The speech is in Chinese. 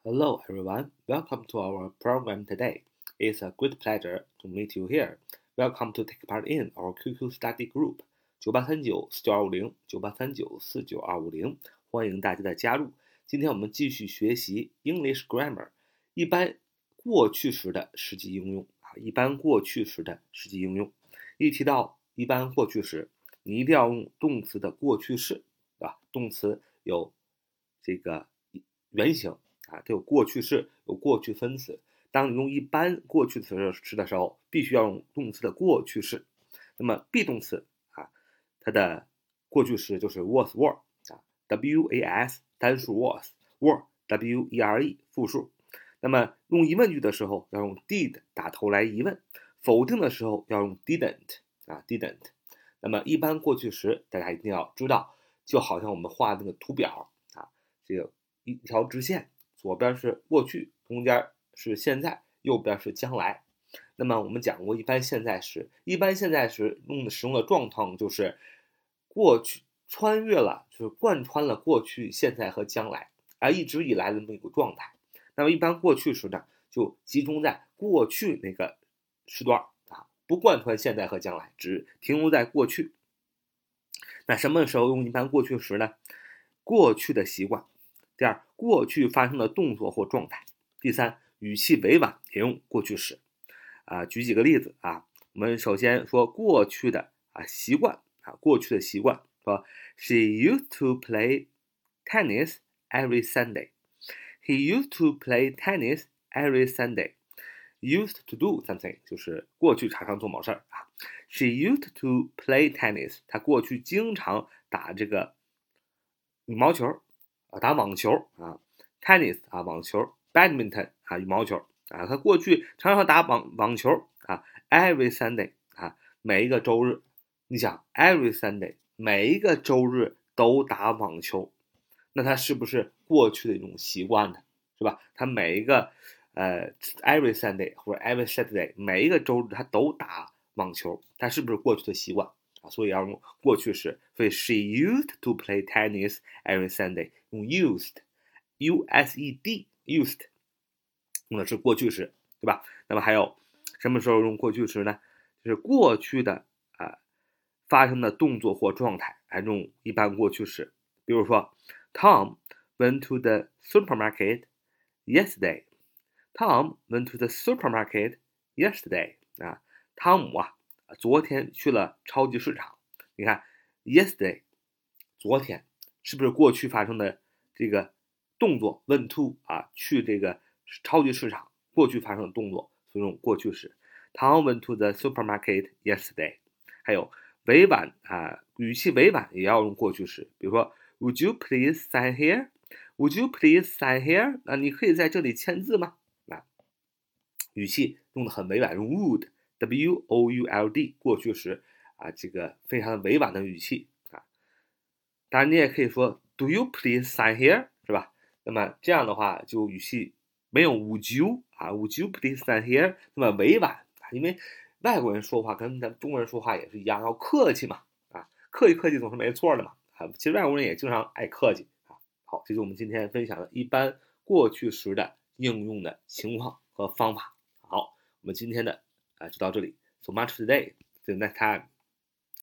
Hello everyone, welcome to our program today. It's a great pleasure to meet you here. Welcome to take part in our QQ study group 9839-4950 欢迎大家的加入。今天我们继续学习 English Grammar 一般过去时的实际应用一般过去时的实际应用。一提到一般过去时，你一定要用动词的过去式，对吧？动词有这个原形它有过去式，有过去分词。当你用一般过去时的时候，必须要用动词的过去式。那么 be 动词它的过去时就是 was were was 单数 were were 复数。那么用疑问句的时候要用 did 打头来疑问，否定的时候要用 didn't didn't。那么一般过去时大家一定要知道，就好像我们画那个图表这个一条直线，左边是过去，中间是现在，右边是将来。那么我们讲过一般现在时，一般现在时使用的状况就是过去穿越了，就是贯穿了过去、现在和将来，而一直以来的那么一个状态。那么一般过去时呢，就集中在过去那个时段不贯穿现在和将来，只停留在过去。那什么时候用一般过去时呢？过去的习惯。第二，过去发生的动作或状态。第三，语气委婉也用过去时。举几个例子我们首先说过去的习惯过去的习惯，说 She used to play tennis every Sunday. He used to play tennis every Sunday. Used to do something 就是过去常常做某事儿She used to play tennis. 她过去经常打这个羽毛球打网球tennis 网球 badminton 羽毛球他过去常常打网球every Sunday 每一个周日。你想 every Sunday 每一个周日都打网球，那他是不是过去的一种习惯呢？是吧？他每一个every Sunday 或者 every Saturday 每一个周日他都打网球，他是不是过去的习惯所以要用过去时。所以 she used to play tennis every Sunday 用 used used 用的是过去时，对吧？那么还有什么时候用过去时呢？就是过去的发生的动作或状态用一般过去时。比如说 Tom went to the supermarket yesterday. Tom went to the supermarket yesterday. 汤姆昨天去了超级市场。你看 yesterday 昨天是不是过去发生的这个动作 went to 去这个超级市场过去发生的动作，所以用过去时。Tom went to the supermarket yesterday. 还有委婉语气委婉也要用过去时。比如说 Would you please sign here? Would you please sign here? 你可以在这里签字吗？语气用的很委婉，用 would would 过去时这个非常委婉的语气当然你也可以说 Do you please sign here? 是吧？那么这样的话就语气没有 would you would you please sign here 那么委婉因为外国人说话跟咱中国人说话也是一样，要客气嘛客气客气总是没错的嘛其实外国人也经常爱客气好，这是我们今天分享的一般过去时的应用的情况和方法。好，我们今天的就到这里。So much today. See you next time.